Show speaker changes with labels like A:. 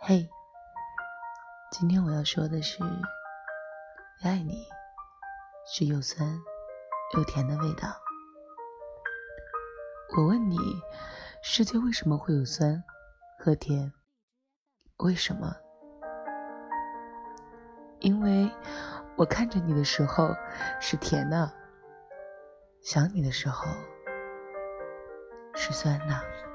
A: 嘿，今天我要说的是，爱你是又酸又甜的味道。我问你，世界为什么会有酸和甜？为什么？因为我看着你的时候是甜的，想你的时候是酸的。